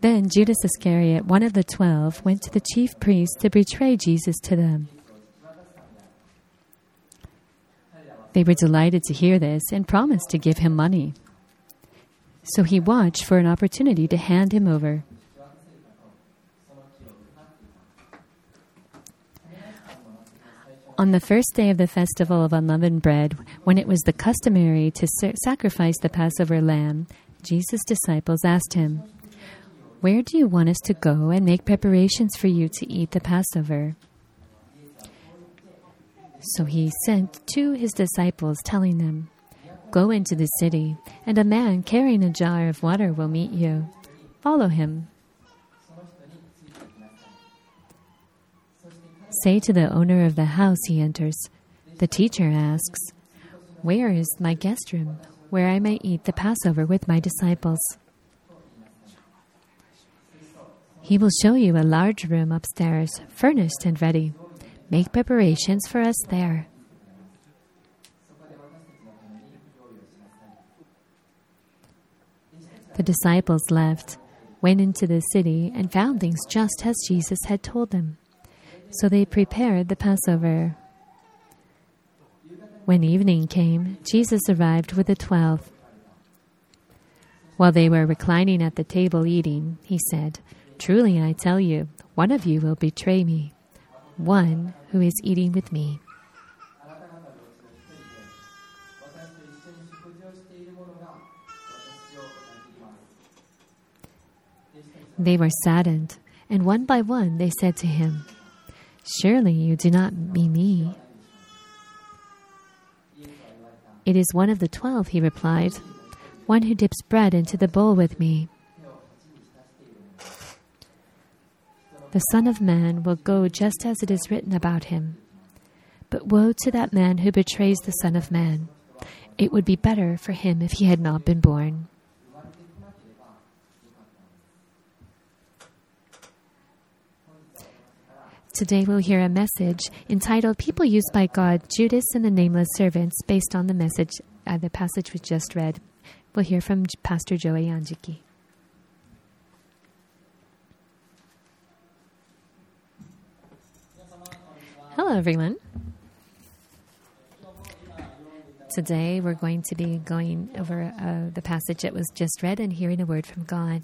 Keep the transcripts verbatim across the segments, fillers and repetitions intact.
Then Judas Iscariot, one of the twelve, went to the chief priests to betray Jesus to them. They were delighted to hear this and promised to give him money. So he watched for an opportunity to hand him over. On the first day of the festival of unleavened bread, when it was the customary to sacrifice the Passover lamb, Jesus' disciples asked him, "Where do you want us to go and make preparations for you to eat the Passover?" So he sent two his disciples, telling them, "Go into the city, and a man carrying a jar of water will meet you. Follow him. Say to the owner of the house he enters, 'The teacher asks, where is my guest room, where I may eat the Passover with my disciples?' He will show you a large room upstairs, furnished and ready. Make preparations for us there." The disciples left, went into the city, and found things just as Jesus had told them. So they prepared the Passover. When evening came, Jesus arrived with the twelve. While they were reclining at the table eating, he said, "Truly I tell you, one of you will betray me, one who is eating with me." They were saddened, and one by one they said to him, "Surely you do not mean me." "It is one of the twelve," he replied, "one who dips bread into the bowl with me. The Son of Man will go just as it is written about him. But woe to that man who betrays the Son of Man. It would be better for him if he had not been born." Today we'll hear a message entitled "People Used by God, Judas and the Nameless Servants," based on the message, uh, the passage we just read. We'll hear from Pastor Joey Anjiki. Hello, everyone. Today we're going to be going over uh, the passage that was just read and hearing a word from God.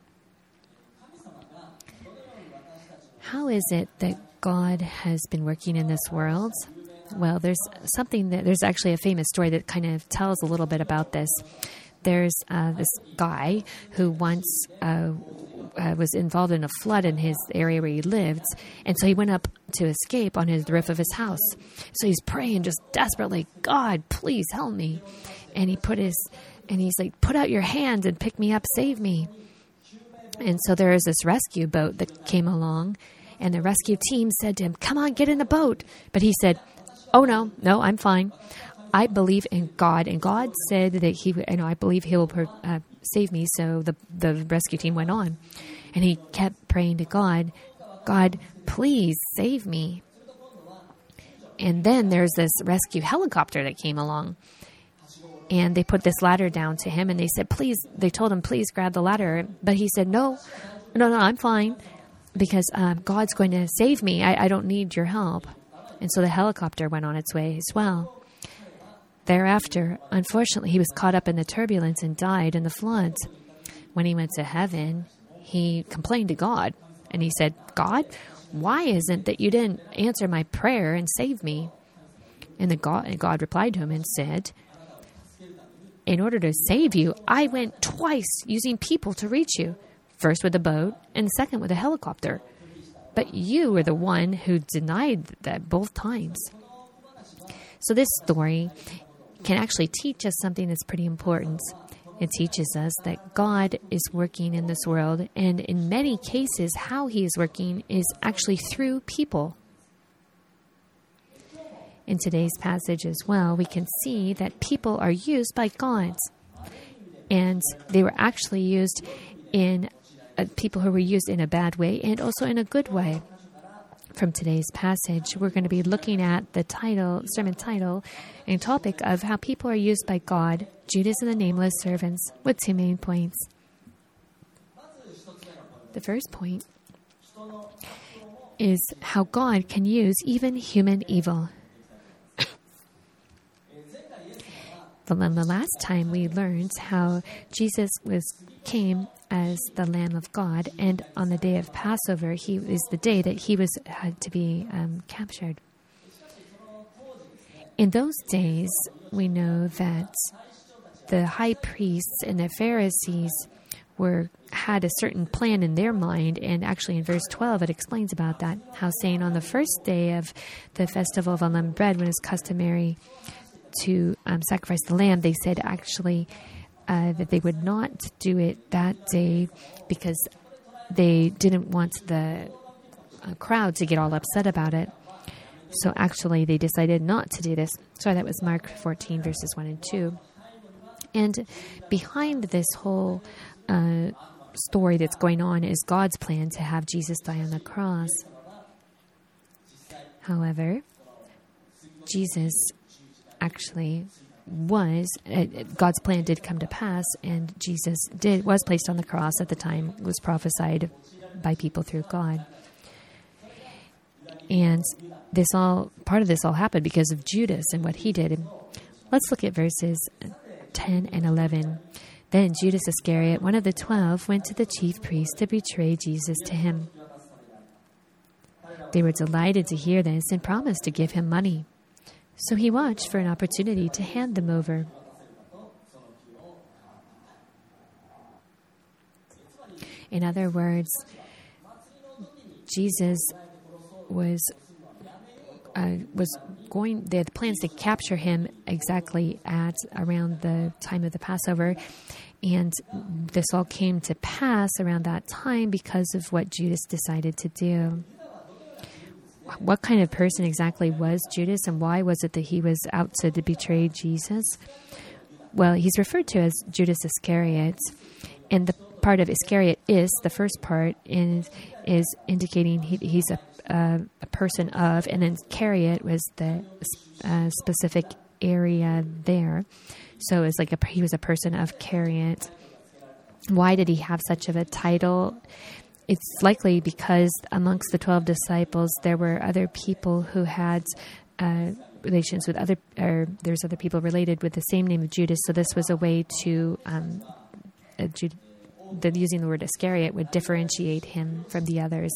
How is it that God has been working in this world? Well, there's something that there's actually a famous story that kind of tells a little bit about this. There's uh, this guy who once uh, uh, was involved in a flood in his area where he lived, and so he went up to escape on his the roof of his house. So he's praying just desperately, "God, please help me!" And he put his and he's like, "Put out your hand and pick me up, save me!" And so there is this rescue boat that came along, and the rescue team said to him, "Come on, get in the boat." But he said, "Oh no, no, I'm fine. I believe in God, and God said that he, you know, I believe He will uh, save me." So the the rescue team went on, and he kept praying to God, "God, please save me." And then there's this rescue helicopter that came along, and they put this ladder down to him, and they said, "Please," they told him, "Please grab the ladder." But he said, "No, no, no, I'm fine, because uh, God's going to save me. I, I don't need your help." And so the helicopter went on its way as well. Thereafter, unfortunately, he was caught up in the turbulence and died in the floods. When he went to heaven, he complained to God, and he said, "God, why isn't that you didn't answer my prayer and save me?" And the God, and God replied to him and said, "In order to save you, I went twice using people to reach you, first with a boat and second with a helicopter. But you were the one who denied that both times." So this story can actually teach us something that's pretty important. It teaches us that God is working in this world, and in many cases, how He is working is actually through people. In today's passage as well, we can see that people are used by God, and they were actually used in uh, people who were used in a bad way and also in a good way. From today's passage, we're going to be looking at the title, sermon title, and topic of how people are used by God, Judas and the Nameless Servants, with two main points. The first point is how God can use even human evil. The, the last time we learned how Jesus was came as the Lamb of God, and on the day of Passover, he is the day that he was had to be um, captured. In those days, we know that the high priests and the Pharisees were had a certain plan in their mind, and actually in verse twelve it explains about that, how saying on the first day of the festival of unleavened bread, when it's customary to um, sacrifice the lamb, they said actually uh, that they would not do it that day because they didn't want the uh, crowd to get all upset about it. So actually they decided not to do this. Sorry, that was Mark fourteen verses one and two. And behind this whole uh, story that's going on is God's plan to have Jesus die on the cross. However, Jesus actually was, uh, God's plan did come to pass, and Jesus did was placed on the cross at the time, was prophesied by people through God. And this all, part of this all happened because of Judas and what he did. And let's look at verses ten and eleven. Then Judas Iscariot, one of the twelve, went to the chief priest to betray Jesus to him. They were delighted to hear this and promised to give him money. So he watched for an opportunity to hand them over. In other words, Jesus was uh, was going. They had plans to capture him exactly at around the time of the Passover, and this all came to pass around that time because of what Judas decided to do. What kind of person exactly was Judas, and why was it that he was out to, to betray Jesus? Well, he's referred to as Judas Iscariot, and the part of Iscariot is, the first part, is, is indicating he, he's a, a, a person of, and then Iscariot was the uh, specific area there. So it's like a, he was a person of Cariot. Why did he have such of a title? It's likely because amongst the twelve disciples, there were other people who had uh, relations with other, or there's other people related with the same name of Judas. So this was a way to, um, uh, Jude, the, using the word Iscariot would differentiate him from the others.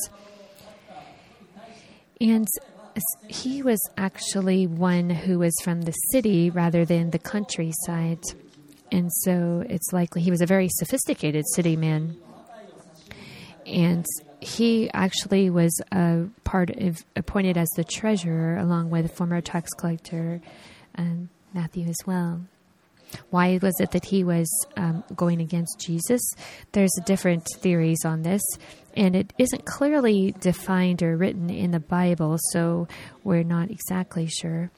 And he was actually one who was from the city rather than the countryside. And so it's likely he was a very sophisticated city man. And he actually was a part of, appointed as the treasurer along with the former tax collector um, Matthew as well. Why was it that he was um, going against Jesus? There's different theories on this, and it isn't clearly defined or written in the Bible, so we're not exactly sure.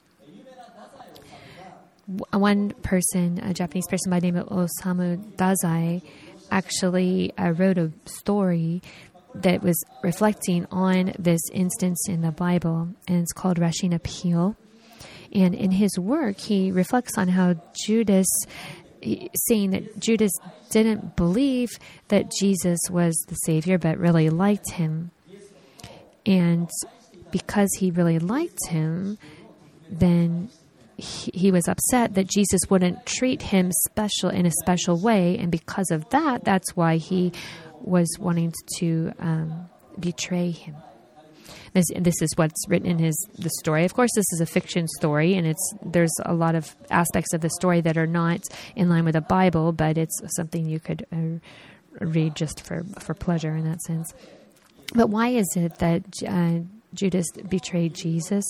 One person, a Japanese person by the name of Osamu Dazai, actually uh, wrote a story that was reflecting on this instance in the Bible, and it's called Rashin Appeal. And in his work, he reflects on how Judas, saying that Judas didn't believe that Jesus was the Savior, but really liked him. And because he really liked him, then he, he was upset that Jesus wouldn't treat him special in a special way. And because of that, that's why he was wanting to um, betray him. This, this is what's written in his the story. Of course, this is a fiction story, and it's there's a lot of aspects of the story that are not in line with the Bible, but it's something you could uh, read just for, for pleasure in that sense. But why is it that uh, Judas betrayed Jesus?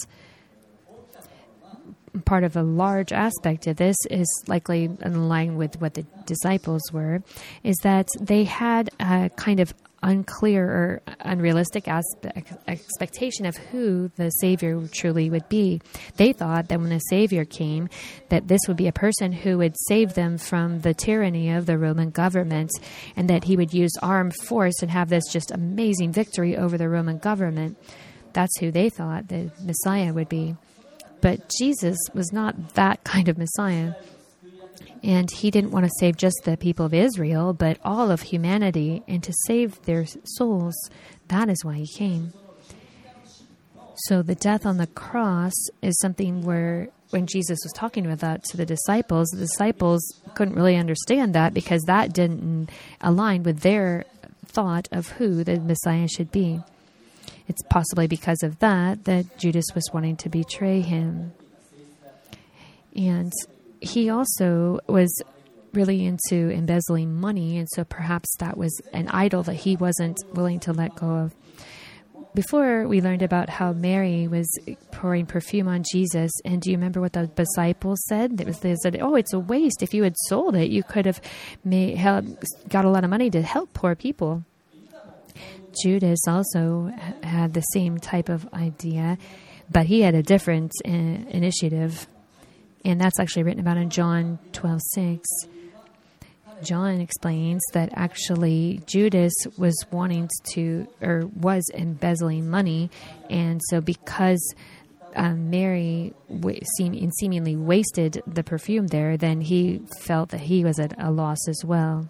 Part of a large aspect of this is likely in line with what the disciples were, is that they had a kind of unclear or unrealistic aspect, expectation of who the Savior truly would be. They thought that when the Savior came, that this would be a person who would save them from the tyranny of the Roman government, and that he would use armed force and have this just amazing victory over the Roman government. That's who they thought the Messiah would be. But Jesus was not that kind of Messiah. And he didn't want to save just the people of Israel, but all of humanity, and to save their souls. That is why he came. So the death on the cross is something where when Jesus was talking about that to the disciples, the disciples couldn't really understand that because that didn't align with their thought of who the Messiah should be. It's possibly because of that that Judas was wanting to betray him. And he also was really into embezzling money, and so perhaps that was an idol that he wasn't willing to let go of. Before, we learned about how Mary was pouring perfume on Jesus, and do you remember what the disciples said? It was, they said, oh, it's a waste. If you had sold it, you could have made, help, got a lot of money to help poor people. Judas also had the same type of idea, but he had a different uh, initiative, and that's actually written about in John twelve six. John explains that actually Judas was wanting to, or was embezzling money, and so because um, Mary w- seem, seemingly wasted the perfume there, then he felt that he was at a loss as well.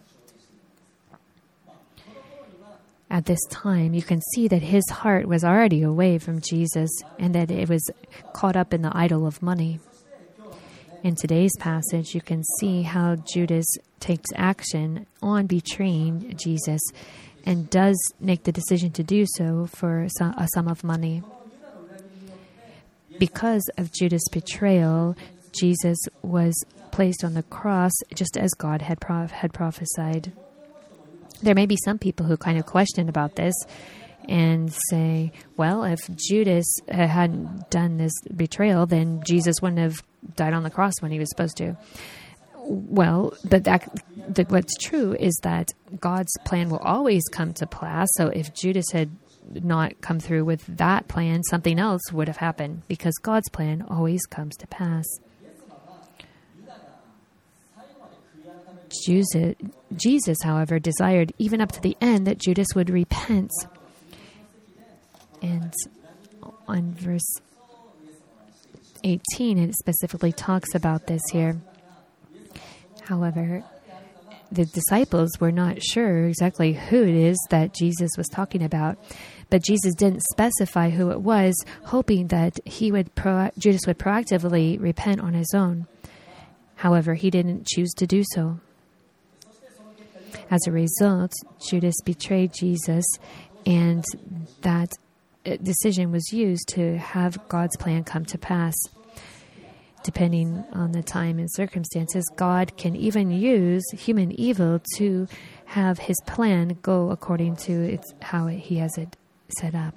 At this time, you can see that his heart was already away from Jesus and that it was caught up in the idol of money. In today's passage, you can see how Judas takes action on betraying Jesus and does make the decision to do so for a sum of money. Because of Judas' betrayal, Jesus was placed on the cross just as God had pro- had prophesied. There may be some people who kind of question about this and say, well, if Judas hadn't done this betrayal, then Jesus wouldn't have died on the cross when he was supposed to. Well, but that, that what's true is that God's plan will always come to pass. So if Judas had not come through with that plan, something else would have happened because God's plan always comes to pass. Jesus, Jesus, however, desired even up to the end that Judas would repent. And on verse eighteen, it specifically talks about this here. However, the disciples were not sure exactly who it is that Jesus was talking about, but Jesus didn't specify who it was, hoping that he would pro- Judas would proactively repent on his own. However, he didn't choose to do so. As a result, Judas betrayed Jesus, and that decision was used to have God's plan come to pass. Depending on the time and circumstances, God can even use human evil to have his plan go according to its, how it, he has it set up.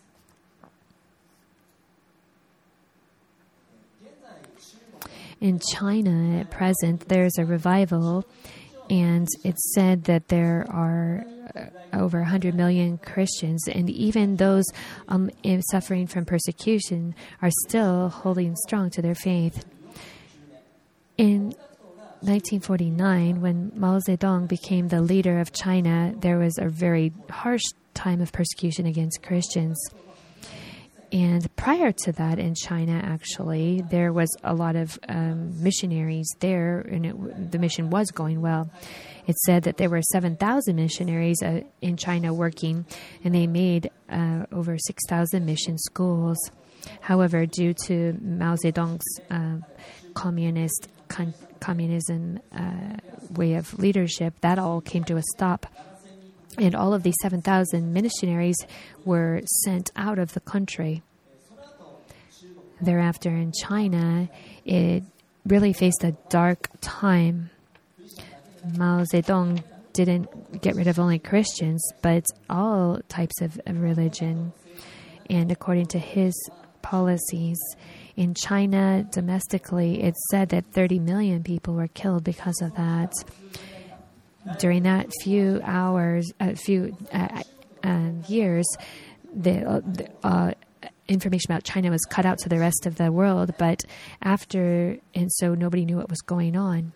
In China at present, there's a revival, and it's said that there are over one hundred million Christians, and even those um, suffering from persecution are still holding strong to their faith. In nineteen forty-nine, when Mao Zedong became the leader of China, there was a very harsh time of persecution against Christians. And prior to that in China, actually, there was a lot of um, missionaries there, and it, the mission was going well. It said that there were seven thousand missionaries uh, in China working, and they made uh, over six thousand mission schools. However, due to Mao Zedong's uh, communist con- communism uh, way of leadership, that all came to a stop. And all of these seven thousand missionaries were sent out of the country. Thereafter in China, it really faced a dark time. Mao Zedong didn't get rid of only Christians, but all types of, of religion. And according to his policies, in China, domestically, it's said that thirty million people were killed because of that. During that few hours, a uh, few uh, uh, years, the, uh, the uh, information about China was cut out to the rest of the world. But after, and so nobody knew what was going on.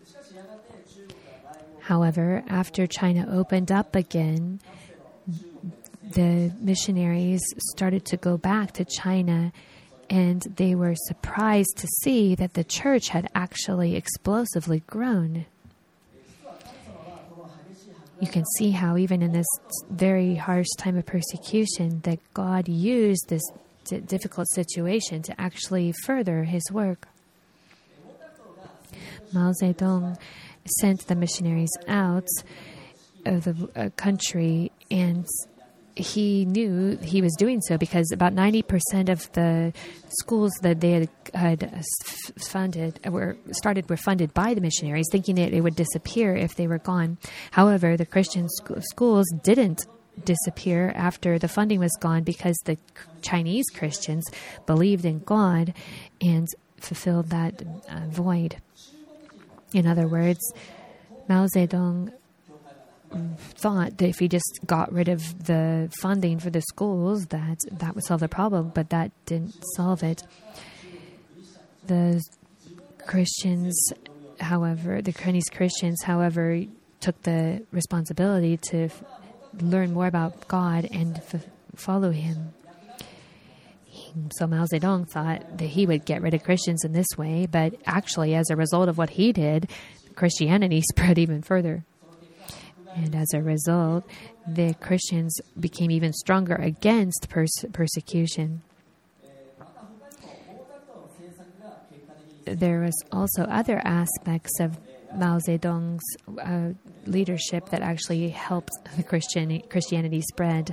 However, after China opened up again, the missionaries started to go back to China And they were surprised to see that the church had actually explosively grown. You can see how even in this very harsh time of persecution that God used this d- difficult situation to actually further His work. Mao Zedong sent the missionaries out of the uh, country, and he knew he was doing so because about ninety percent of the schools that they had, had funded were started were funded by the missionaries, thinking that it would disappear if they were gone. However, the Christian sc- schools didn't disappear after the funding was gone because the Chinese Christians believed in God and fulfilled that uh, void. In other words, Mao Zedong thought that if he just got rid of the funding for the schools, that that would solve the problem, but that didn't solve it. The Christians, however, the Chinese Christians, however, took the responsibility to f- learn more about God and f- follow Him. He, so Mao Zedong thought that he would get rid of Christians in this way, but actually, as a result of what he did, Christianity spread even further. And as a result, the Christians became even stronger against pers- persecution. There was also other aspects of Mao Zedong's uh, leadership that actually helped the Christian Christianity spread.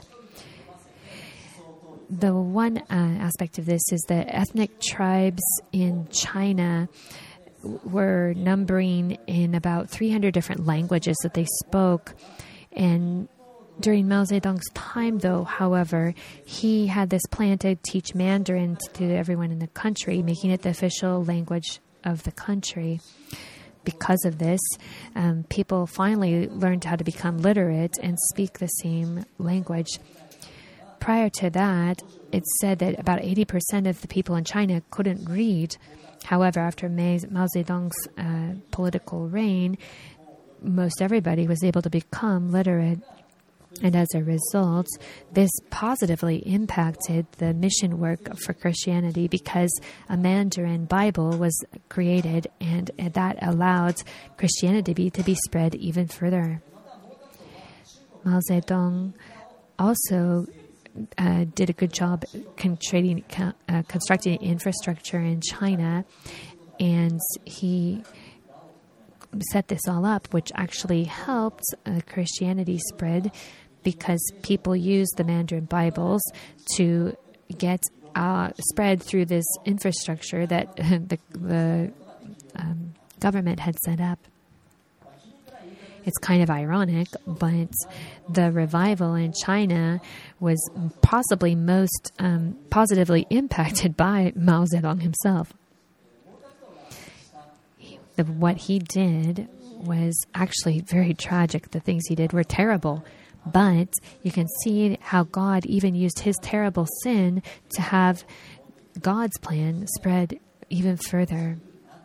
The one uh, aspect of this is that ethnic tribes in China were numbering in about three hundred different languages that they spoke. And during Mao Zedong's time, though, however, he had this plan to teach Mandarin to everyone in the country, making it the official language of the country. Because of this, um, people finally learned how to become literate and speak the same language. Prior to that, it's said that about eighty percent of the people in China couldn't read. However, after Mao Zedong's uh, political reign, most everybody was able to become literate. And as a result, this positively impacted the mission work for Christianity because a Mandarin Bible was created, and, and that allowed Christianity to be spread even further. Mao Zedong also Uh, did a good job constructing, uh, constructing infrastructure in China, and he set this all up, which actually helped uh, Christianity spread because people used the Mandarin Bibles to get uh, spread through this infrastructure that the, the um, government had set up. It's kind of ironic, but the revival in China was possibly most um, positively impacted by Mao Zedong himself. The, what he did was actually very tragic. The things he did were terrible. But you can see how God even used his terrible sin to have God's plan spread even further.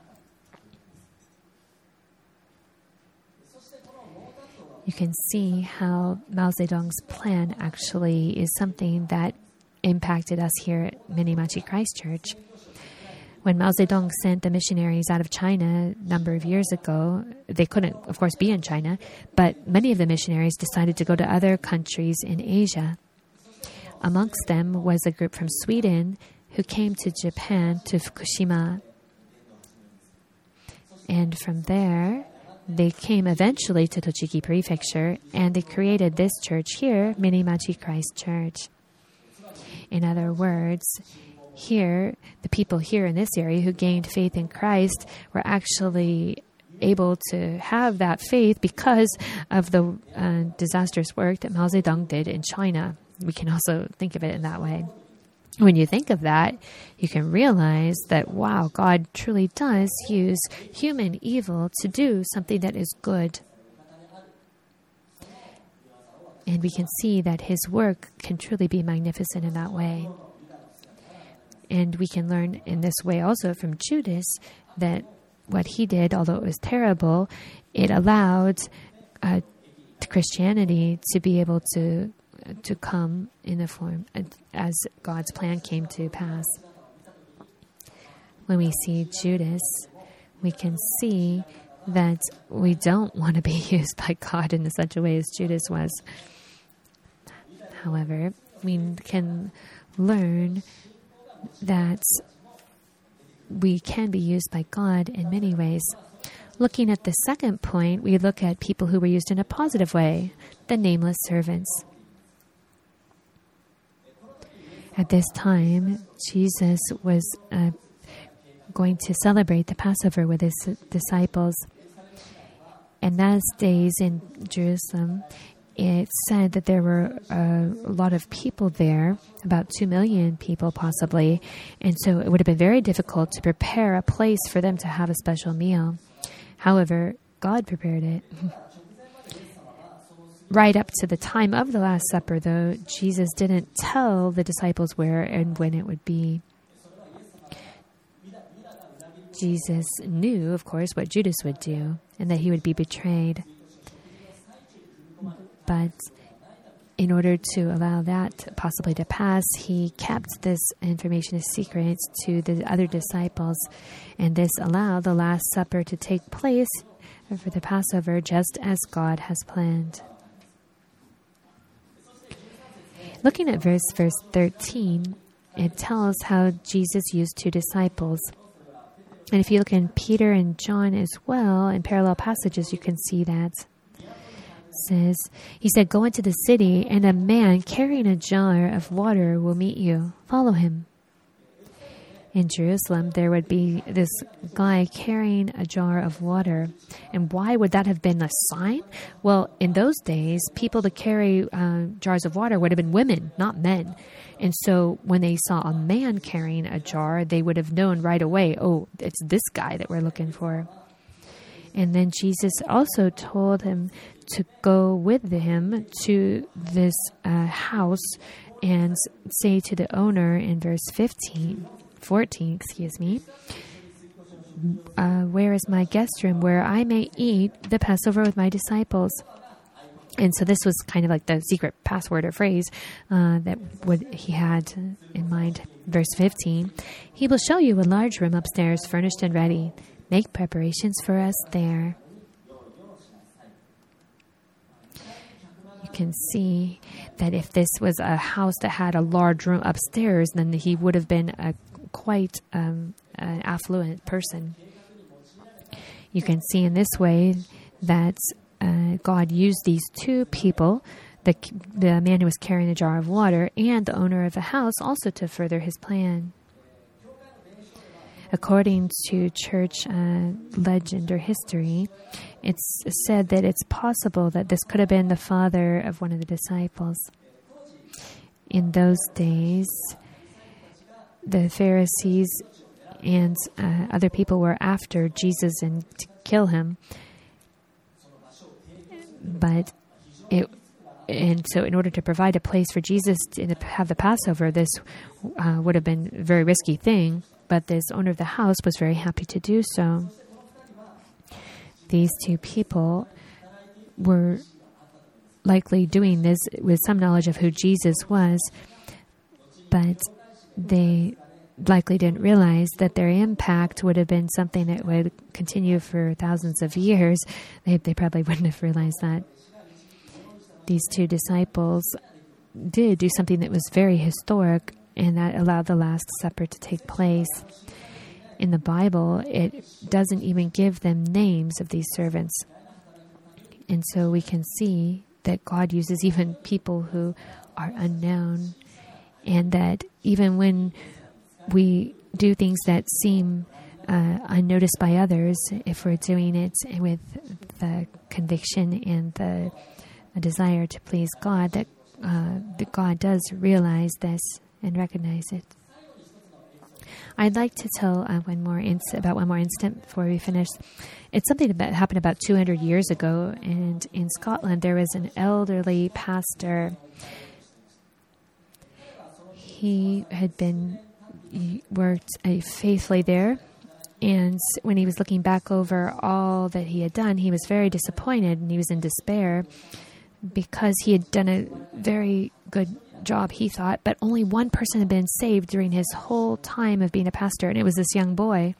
You can see how Mao Zedong's plan actually is something that impacted us here at Minimachi Christ Church. When Mao Zedong sent the missionaries out of China a number of years ago, they couldn't, of course, be in China, but many of the missionaries decided to go to other countries in Asia. Amongst them was a group from Sweden who came to Japan, to Fukushima. And from there, they came eventually to Tochigi Prefecture, and they created this church here, Minimachi Christ Church. In other words, here, the people here in this area who gained faith in Christ were actually able to have that faith because of the uh, disastrous work that Mao Zedong did in China. We can also think of it in that way. When you think of that, you can realize that, wow, God truly does use human evil to do something that is good. And we can see that his work can truly be magnificent in that way. And we can learn in this way also from Judas that what he did, although it was terrible, it allowed uh, Christianity to be able to to come in the form as God's plan came to pass. when we see Judas, we can see that we don't want to be used by God in such a way as Judas was. However, we can learn that we can be used by God in many ways. Looking at the second point, we look at people who were used in a positive way, the nameless servants. At this time, Jesus was uh, going to celebrate the Passover with his disciples. And those days in Jerusalem, it said that there were uh, a lot of people there, about two million people possibly, and so it would have been very difficult to prepare a place for them to have a special meal. However, God prepared it. Right up to the time of the Last Supper, though, Jesus didn't tell the disciples where and when it would be. Jesus knew, of course, what Judas would do, and that he would be betrayed. But in order to allow that possibly to pass, he kept this information a secret to the other disciples, and this allowed the Last Supper to take place for the Passover just as God has planned. Looking at verse verse thirteen, it tells how Jesus used two disciples. And if you look in Peter and John as well, in parallel passages, you can see that. It says, he said, "Go into the city, and a man carrying a jar of water will meet you. Follow him." In Jerusalem, there would be this guy carrying a jar of water. And why would that have been a sign? Well, in those days, people to carry uh, jars of water would have been women, not men. And so when they saw a man carrying a jar, they would have known right away, oh, it's this guy that we're looking for. And then Jesus also told him to go with him to this uh, house and say to the owner in verse fifteen, fourteen, excuse me, uh, "Where is my guest room where I may eat the Passover with my disciples?" And so this was kind of like the secret password or phrase uh, that what he had in mind. Verse fifteen, "He will show you a large room upstairs, furnished and ready. Make preparations for us there." You can see that if this was a house that had a large room upstairs, then he would have been a quite um, an affluent person. You can see in this way that uh, God used these two people, the, the man who was carrying a jar of water and the owner of the house, also to further his plan. According to church uh, legend or history, it's said that it's possible that this could have been the father of one of the disciples. In those days, the Pharisees and uh, other people were after Jesus and to kill him. But it, and so in order to provide a place for Jesus to have the Passover, this uh, would have been a very risky thing. But this owner of the house was very happy to do so. These two people were likely doing this with some knowledge of who Jesus was, but they likely didn't realize that their impact would have been something that would continue for thousands of years. They, they probably wouldn't have realized that. These two disciples did do something that was very historic, and that allowed the Last Supper to take place. In the Bible, it doesn't even give them names of these servants. And so we can see that God uses even people who are unknown, and that even when we do things that seem uh, unnoticed by others, if we're doing it with the conviction and the, the desire to please God, that, uh, that God does realize this and recognize it. I'd like to tell uh, one more inc- about one more incident before we finish. It's something that happened about two hundred years ago, and in Scotland there was an elderly pastor. He had been he worked uh, faithfully there, and when he was looking back over all that he had done, he was very disappointed and he was in despair because he had done a very good job, he thought, but only one person had been saved during his whole time of being a pastor, and it was this young boy.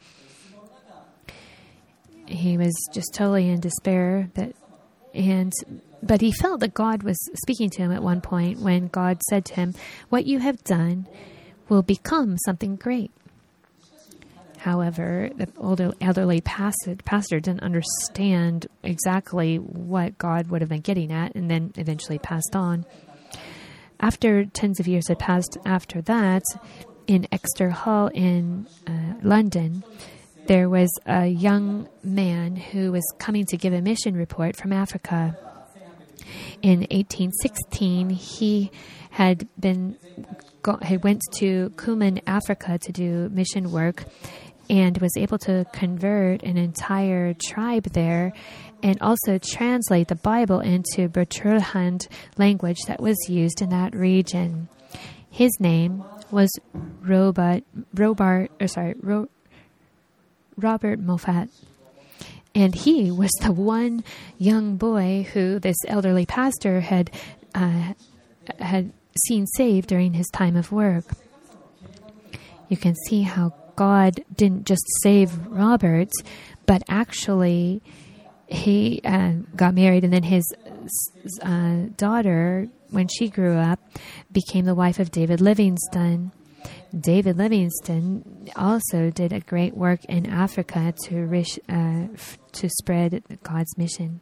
He was just totally in despair, that, and but he felt that God was speaking to him at one point when God said to him, "What you have done will become something great." However, the older, elderly pastor, pastor didn't understand exactly what God would have been getting at, and then eventually passed on. After tens of years had passed after that, in Exeter Hall in uh, London, there was a young man who was coming to give a mission report from Africa. In eighteen sixteen, he had been go, had went to Kuman, Africa, to do mission work, and was able to convert an entire tribe there, and also translate the Bible into Bertrand language that was used in that region. His name was Robert, Robert, or sorry, Ro, Robert Moffat. And he was the one young boy who this elderly pastor had uh, had seen saved during his time of work. You can see how God didn't just save Robert, but actually he uh, got married, and then his uh, daughter, when she grew up, became the wife of David Livingstone. David Livingstone also did a great work in Africa to rish, uh, f- to spread God's mission.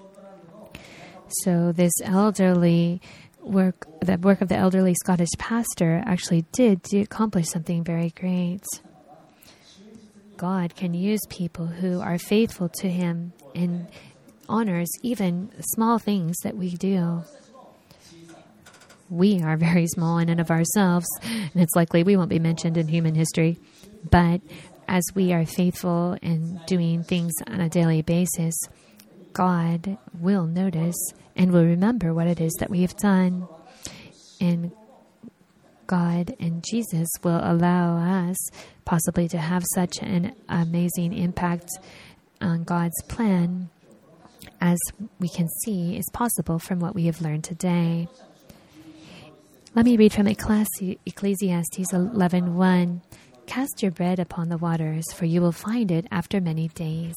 So this elderly work, the work of the elderly Scottish pastor, actually did to accomplish something very great. God can use people who are faithful to Him and honors even small things that we do. We are very small in and of ourselves, and it's likely we won't be mentioned in human history. But as we are faithful in doing things on a daily basis, God will notice and will remember what it is that we have done. And God and Jesus will allow us possibly to have such an amazing impact on God's plan as we can see is possible from what we have learned today. Let me read from Ecclesiastes eleven one. Cast your bread upon the waters, for you will find it after many days.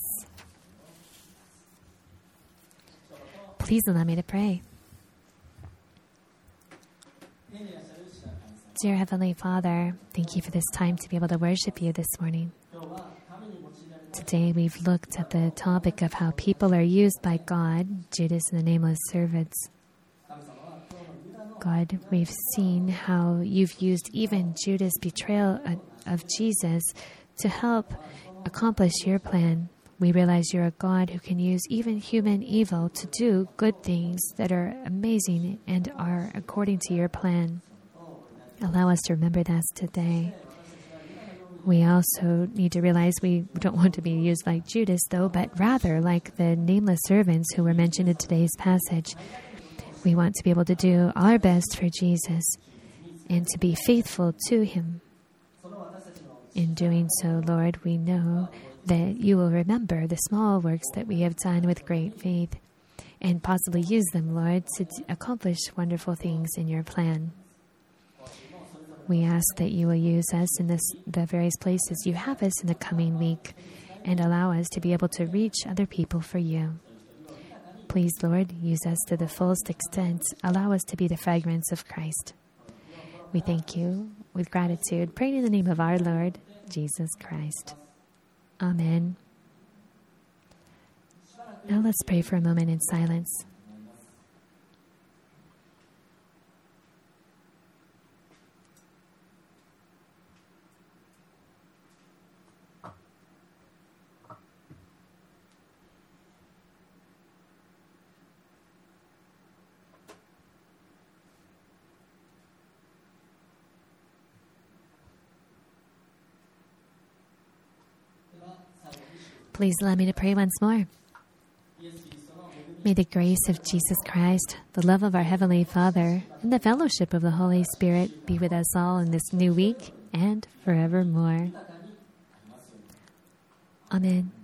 Please allow me to pray. Dear Heavenly Father, thank you for this time to be able to worship you this morning. Today we've looked at the topic of how people are used by God, Judas and the nameless servants. God, we've seen how you've used even Judas' betrayal of Jesus to help accomplish your plan. We realize you're a God who can use even human evil to do good things that are amazing and are according to your plan. Allow us to remember that today. We also need to realize we don't want to be used like Judas, though, but rather like the nameless servants who were mentioned in today's passage. We want to be able to do our best for Jesus and to be faithful to Him. In doing so, Lord, we know that you will remember the small works that we have done with great faith and possibly use them, Lord, to accomplish wonderful things in your plan. We ask that you will use us in this, the various places you have us in the coming week and allow us to be able to reach other people for you. Please, Lord, use us to the fullest extent. Allow us to be the fragrance of Christ. We thank you with gratitude, praying in the name of our Lord, Jesus Christ. Amen. Now let's pray for a moment in silence. Please allow me to pray once more. May the grace of Jesus Christ, the love of our Heavenly Father, and the fellowship of the Holy Spirit be with us all in this new week and forevermore. Amen.